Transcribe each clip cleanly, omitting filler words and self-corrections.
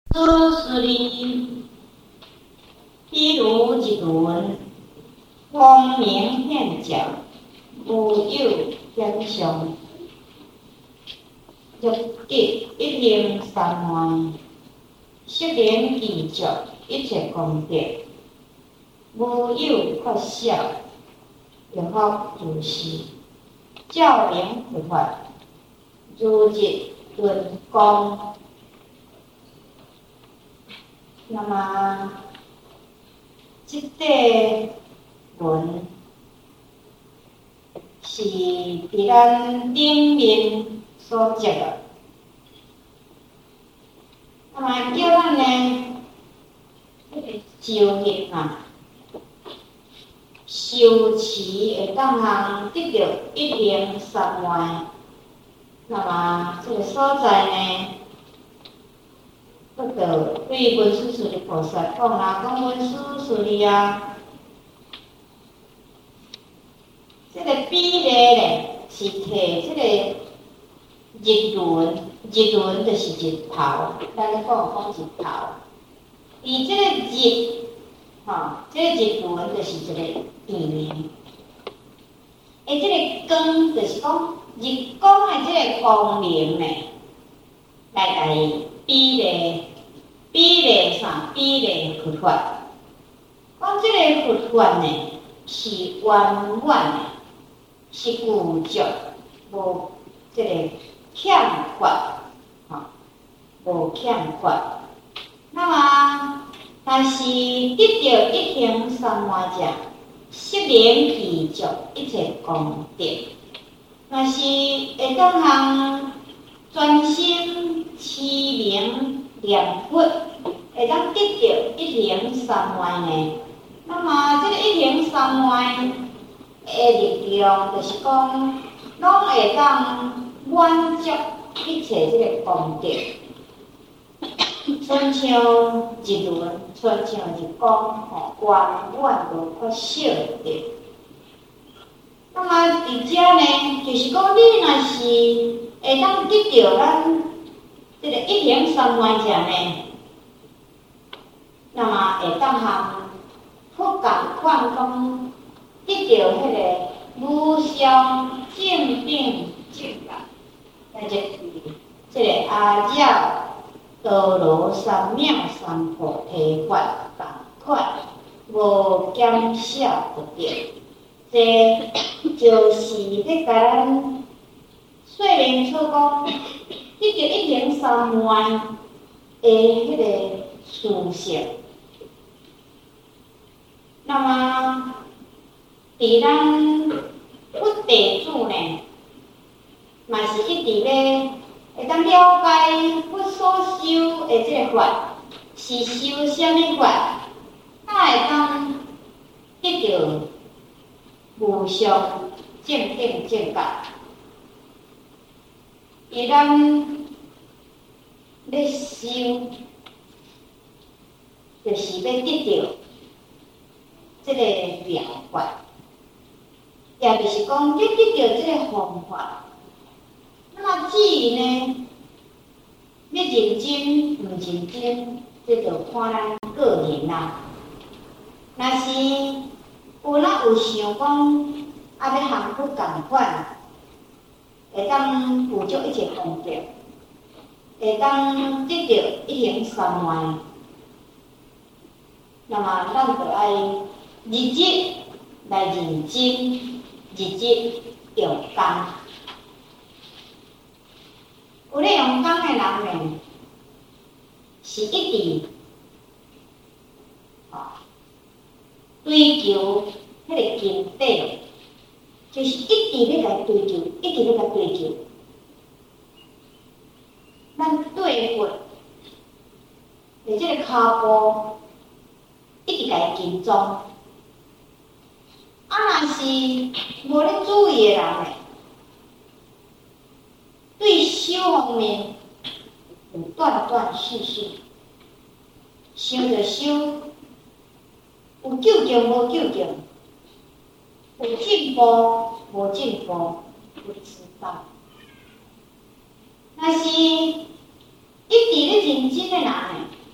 此理，譬如一輪，光明顯照，無有顯相。欲極一形三昧，色靈具足，一切功德，無有缺少，欲復如是。照明佛法，如日輪光。那麼，這塊輪是佇咱頂面所接的。那麼叫咱呢，修行啊，修持會當通得到一形三昧。那麼這個所在呢，對文殊師利菩薩講啦，講文殊師利啊，這個比例呢是摕這個日輪，日輪就是日頭，咱咧講日頭。而這個日，這個日輪就是一個圓明。這個光就是講日光的這個光明呢，來比例啥？比例佛法。講這個佛法呢，是圓滿的，是具足，無這個欠缺，無欠缺。那麼，但是得到一形三昧者，色靈具足，一切功德。若是會當通專心持名念佛，會當得到一形三昧呢？那麼這個一形三昧的力量，就是講，攏會當滿足一切這個功德。親像日輪，親像日光，圓滿無缺少的。那麼佇遮呢，就是講你若是會當得到咱這個一形三昧者呢，那麼會當通佛共款講得到迄個無上正等正覺，就是這個阿繞多羅三藐三菩提法共款，無減少不得。這就是咧甲咱說明出講，得到一形三昧的迄個殊勝。那麼，佇咱佛弟子呢，嘛是一直咧會當了解佛所修的這個法是修什麼法，才會當得到無上正等正覺。而咱咧修，就是要得到這個妙法，也就是講要得到這個方法。那麼至於呢，要認真不認真，這就看咱個人啦。若是有想講，要和佛同款，會當具足一切功德，會當得到一形三昧。那麼咱就愛日日來認真，日日用功。有咧用功的人呢，是一直追求迄個經典，就是一直咧來追求，一直咧來追求。咱對佛的這個腳步，一直來跟蹤。若是無咧注意的人呢，對修方面有斷斷續續，修就修，有究竟無究竟，有進步無進步，不知道。若是一直咧認真的人呢，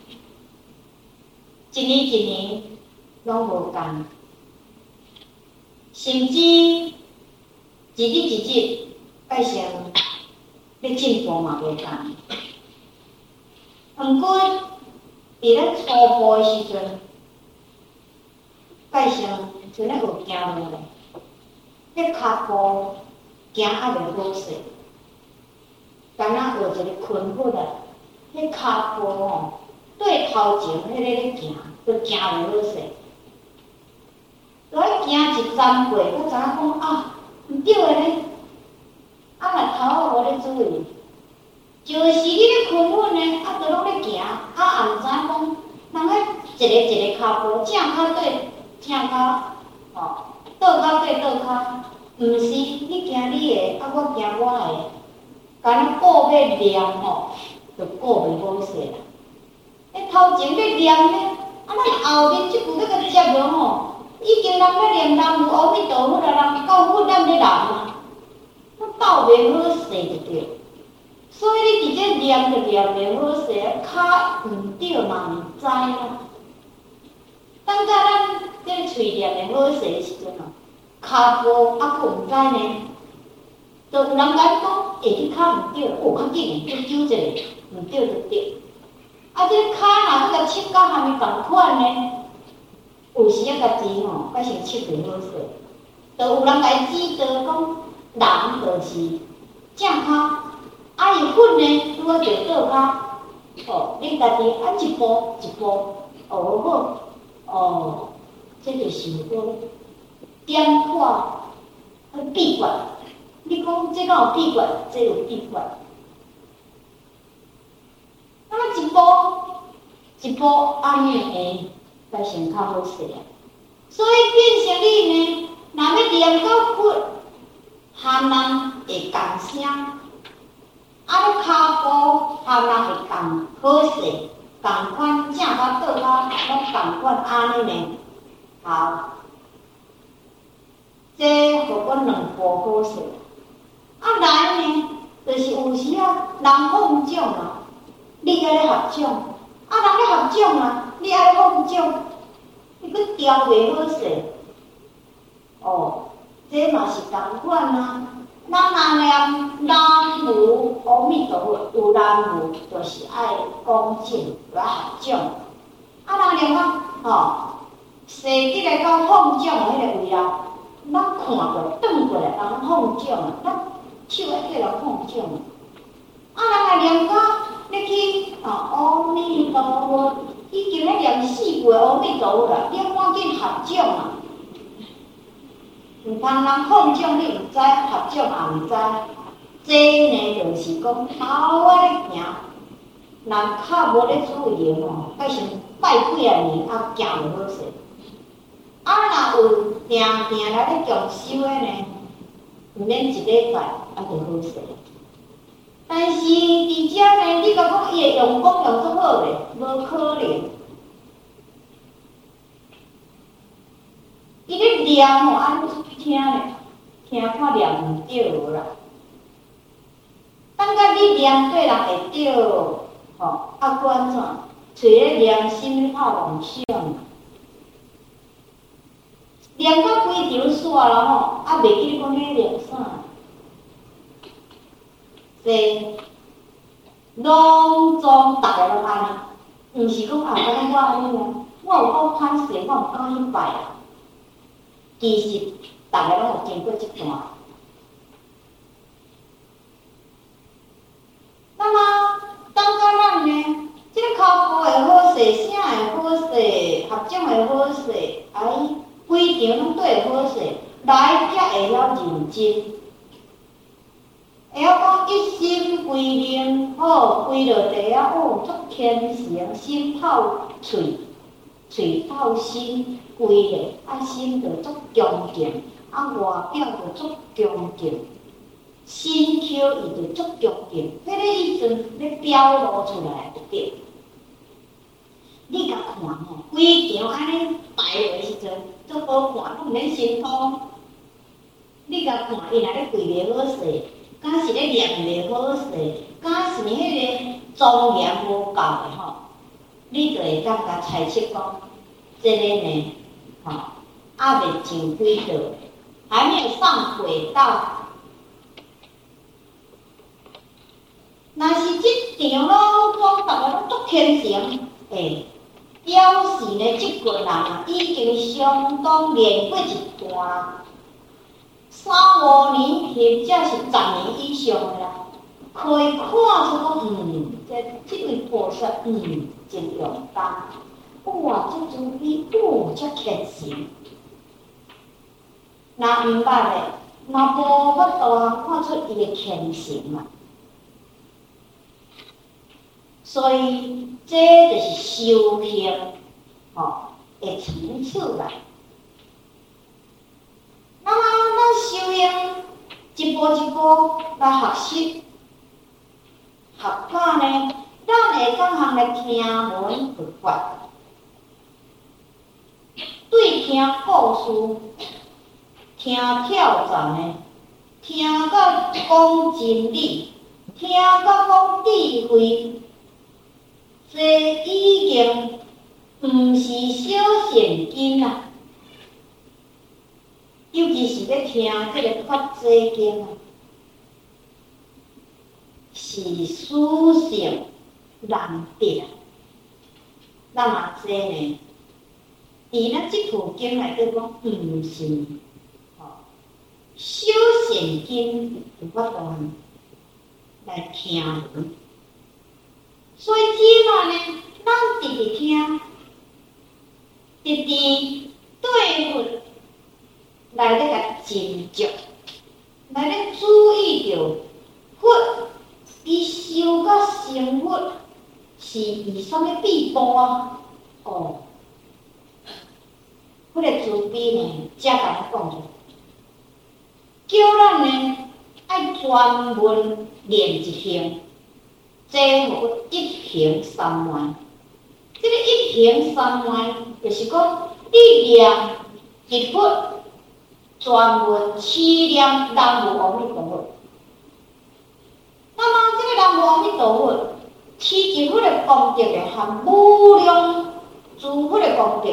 一年一年攏無共，甚至一日一日變成要進步嘛無共。毋過佇咱初步誒時陣，變成像咧學行路咧，迄骹步行還袂好勢，敢若學一個困佛啊，迄骹步吼對頭前迄個咧行，都行袂好勢。來行一站過，才知影講啊，毋對誒咧，啊嘛頭仔無咧注意。就是你咧困穩呢，啊，都攏咧行，啊，也毋知講，人咧一個骹步，正骹對正骹，吼，倒骹對倒骹，毋是你行你的，啊，我行我的，敢若顧要念吼，就顧袂好勢啦。迄頭前咧念咧，啊，咱後面即句要甲接落吼，已經人咧念南無阿彌陀佛啦，人到佛咱咧念啊，咱鬥袂好勢就對。所以你直接念就念袂好勢，骹毋對嘛毋知啦。等到咱這喙念袂好勢的時陣哦，骹步還佫毋知呢，就有人甲你講，下隻骹毋對，較緊誒，去糾一下，毋對就對。啊，這骹若佫甲切到蝦米共款呢？有時啊，家己吼，改成切袂好勢，就有人甲伊指導講，人就是正骹。啊，伊訓呢，拄啊着倒骹，哦，恁家己啊一步一步學好，哦，這就是個點破秘訣。你講這敢有秘訣？這有秘訣。那麼一步一步安尼會才成較好勢啊。所以變成你呢，若要念到佛，含人會共聲。啊，你骹步含人會共好勢，共款正骹倒骹攏共款安尼呢。好，這互阮兩步好勢。啊，來呢，就是有時啊，人放獎啊，你愛咧合獎，啊，人咧合獎啊，你愛咧放獎，你佫調袂好勢。哦，這嘛是同款啊。咱若念南無阿彌陀佛，有南無就是愛恭敬，就愛合掌。啊，若念啊，吼，實際來講放掌的迄個位啊，咱看過轉過來，人放掌啊，咱手愛叫人放掌啊。啊，人若念到你去阿彌陀佛，已經咧念4句阿彌陀佛啦，你趕緊合掌啊！毋通人放獎你毋知，合獎也毋知，這呢就是講頭仔咧行，人較無咧注意吼，變成拜幾啊年啊行袂好勢。啊，若有定定來咧強修的呢，毋免一禮拜啊就好勢。但是佇遮呢，你甲講伊會用功用足好咧，無可能。伊咧念吼，安尼聽咧，聽看念毋對無啦。等甲你念對人會對，吼，啊，佫安怎？找咧念心拍妄想，念到規場煞啦吼，啊，袂記講咧念啥。這攏總逐個攏安尼，毋是講啊，敢若我安尼啊，我有夠歹勢，我毋敢去拜啊。其實大家攏有經過這段。那麼當到咱呢，這個骹步會好勢，聲會好勢，合掌會好勢，規場攏對好勢，來才會曉認真，會曉講一心歸命，好歸落地啊，哦，足虔誠，心透喙。喙透心，規個啊心就足恭敬，啊外表就足恭敬，身口伊就足恭敬，迄個意思咧表露出來就對。你甲看吼，規場安尼排落時陣足好看，攏毋免辛苦。你甲看，伊若咧跪袂好勢，敢是咧念袂好勢，敢是迄個莊嚴無夠的吼。 你就會感覺猜測講，這個呢，還未上軌道，還沒有上軌道。若是這場老莊，大家攏足虔誠，表示呢，這個人已經相當練過一段，3、5年或者是10年以上的啦，可以看出講，這位菩薩，真勇敢，哇，這慈悲，這虔誠。若毋捌的，若無法度看出伊的虔誠嘛。所以，這就是修行，的層次啦。那麼，咱修行一步一步來學習，學法呢，咱會當通來聽聞佛法，對聽故事，聽挑戰的，聽到講真理，聽到講智慧。這已經毋是小善經啦，尤其是咧聽這個法濟經啊，是殊勝難得。咱嘛這呢，佇咱這部經內底講，毋是小善經，有法度來聽聞。所以今嘛呢，咱直直聽，直直對佛來咧個斟酌，來咧注意着佛伊修甲成佛是以什麼地步啊？佛個慈悲呢，才甲咱講着，叫咱呢愛專門練一行。這無一行三昧，這個一行三昧，就是講你念一佛，專門持念南無阿彌陀佛。那麼這個南無阿彌陀佛，持一佛的功德呢，和無量諸佛的功德，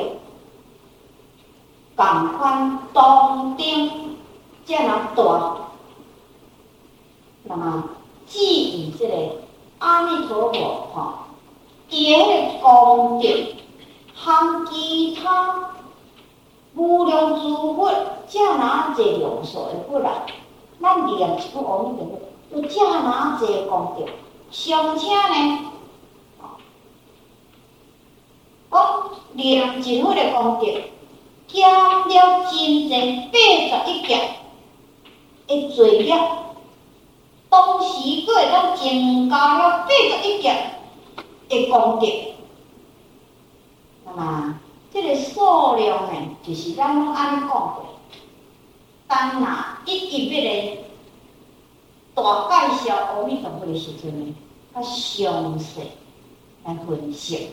同款同等，這樣大。那麼至於這個阿彌陀佛，伊個功德，和其他無量諸佛，遮哪濟量數的佛來，咱念一佛阿彌陀佛，有遮哪濟功德，尚且呢，講念一佛的功德，減了真濟81劫的罪孽。同時，佫會當增加了81劫的功德。那麼，這個數量呢，就是咱攏安尼講過。當若一要來大介紹阿彌陀佛的時陣呢，較詳細來分析。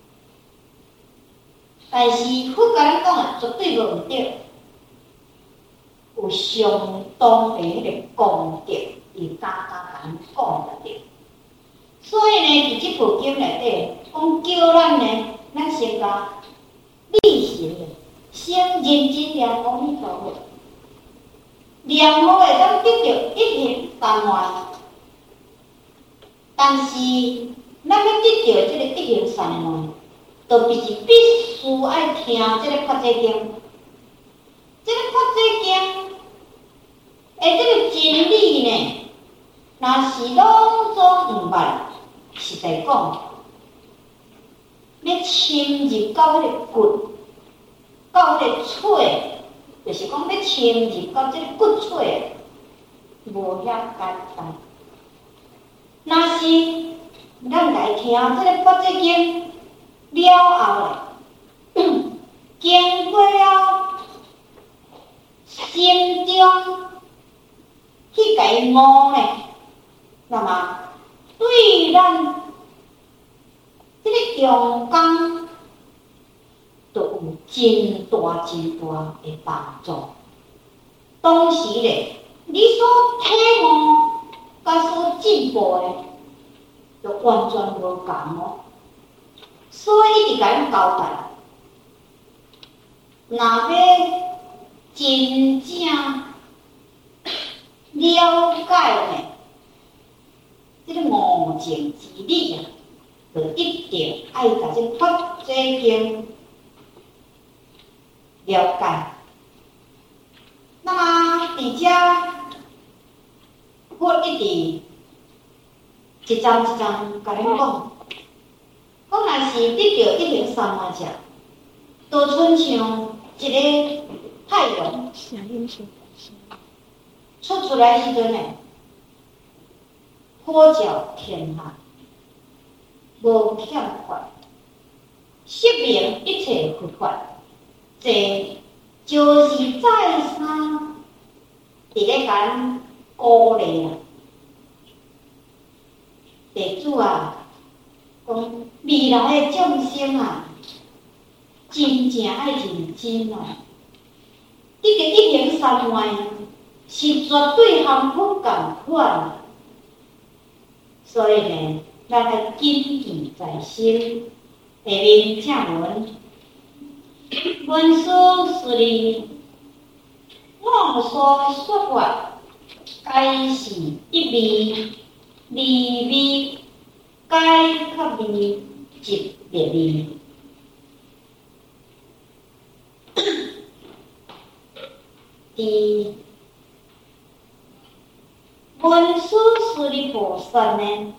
但是佛甲咱講的絕對無毋對，有相當的迄個功德。伊大咱講得着，所以呢，佇這部經內底，講叫咱呢，咱先甲力行的，先認真念阿彌陀佛，念好會當得到一行三昧。但是，咱要得到這個一行三昧，就必須愛聽這個法濟經，這個法濟經。這個真理呢，若是攏總毋捌，實在講，要深入到迄個骨，到迄個髓，就是講要深入到這個骨髓，無遐簡單。若是咱來聽這個法濟經了後，經過了心中。去甲伊悟呢，那麼對咱這個用功，就有真大的幫助。當時咧，你所體悟甲所進步的，就完全無共哦。 所以一直甲咱交代，若要真正了解呢，這個無情之理啊，就一定愛甲這佛這經了解。那麼佇遮，佛一直一站一站甲咱講，若是得到一行三摩者，就親像一個太陽出來時陣呢，普照天下，無欠缺，釋明一切佛法，這就是再三佇咧甲咱鼓勵啊，弟子啊，講未來的眾生啊，真正愛認真哦。這個一行三昧是絕對和佛同款，所以呢，咱要謹記在心。下面正文，文殊師利，我所說法，皆是一味、二味，皆較味即別味。第文殊師利菩薩呢，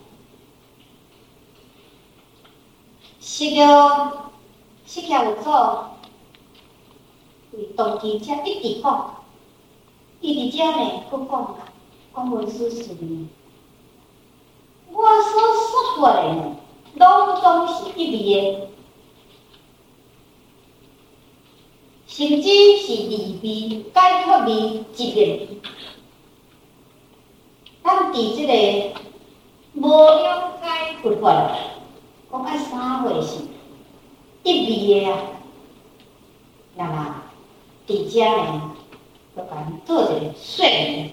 釋迦有祖為當機者一直講，伊佇遮呢，佫講文殊師利，我所說法的呢，攏總是一味的。甚至是二味、解脫味、即別味。咱佇這個無了解佛法，講愛啥貨是一味的啊？那麼佇遮呢，就甲咱做一個說明。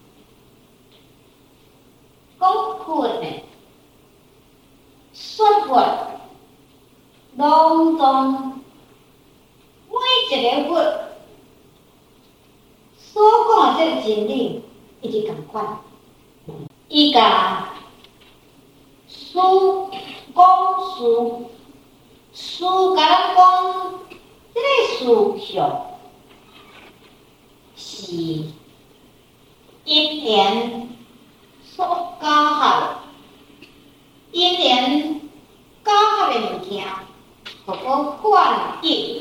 講佛呢，說法攏總。每一個佛所講的這個真理，一直同款。伊甲事講事甲咱講，這個事項是因緣所交合，因緣交合的物件，叫做幻有。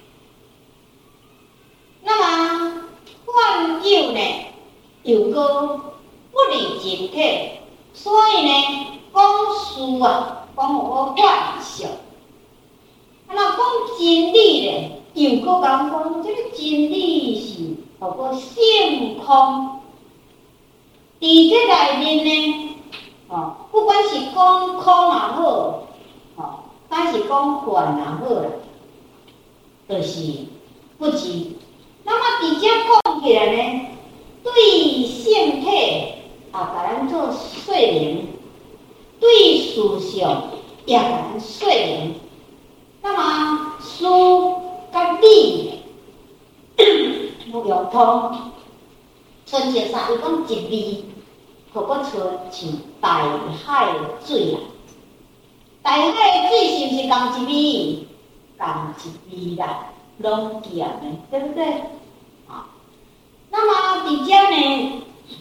那麼幻有呢，又個不離真體，所以呢，講事啊，講有個幻象。那講真理呢，又個講這個真理是有個性空。佇這內面呢，不管是講空也好，但是講幻也好啦，就是不知。那麼佇遮講起來呢，對性體甲咱做說明，對事項也甲咱說明。那麼事甲理有融通，親像啥？伊講一味，可佫像大海的水啊。大海的水是毋是同一味？同一味啦。攏一樣的，對不對？啊，那麼佇遮呢，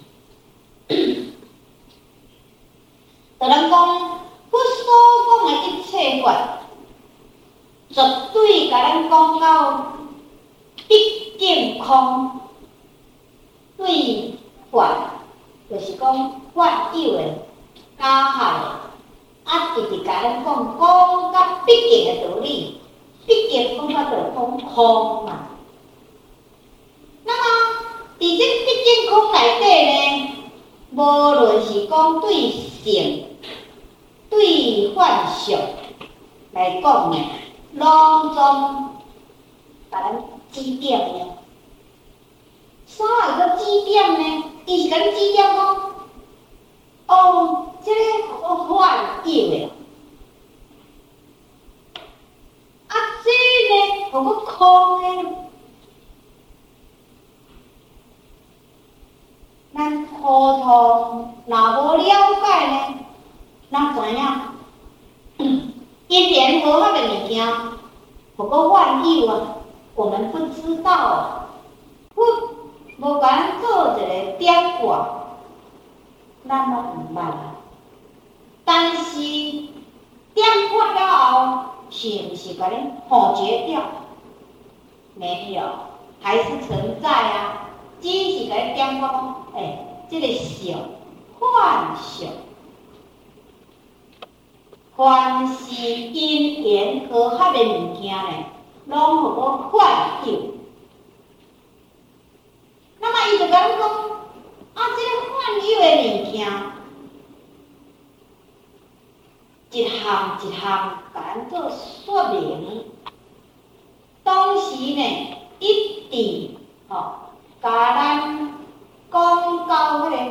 就咱講，佛所講的一切法，絕對甲咱講到畢竟空，對法，就是講法有的加害的，直直甲咱講到畢竟的道理。畢竟講法就講空嘛，那麼佇這畢竟空內底呢，無論是講對性、對幻象來講呢，攏總甲咱指點呢。啥有個指點呢？伊是甲咱指點講，這個幻有的。 互佫空誒。咱普通若無了解呢，哪知影？因緣和合的物件，互佫萬有啊，我們不知道啊。無甲咱做一個點掛，咱攏毋捌啊。但是點掛了後，是毋是甲恁破絕掉？沒有，還是存在啊。只是甲恁點掛講，這個相，幻相，凡是因緣和合的物件呢，攏互我幻有。那麼伊就甲咱講，這個幻有的物件，一項一項甲咱做說明。當時呢，一直甲咱講到迄個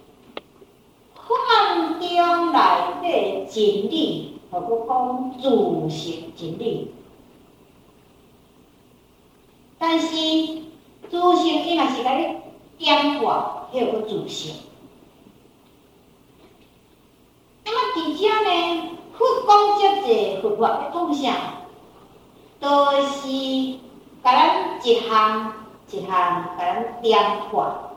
幻中內底真理，互佫講自性真理。但是自性伊若是甲你點掛，迄個自性。那麼佇遮呢，佛講遮濟，佛法要講啥？都是甲咱一項一項甲咱點掛。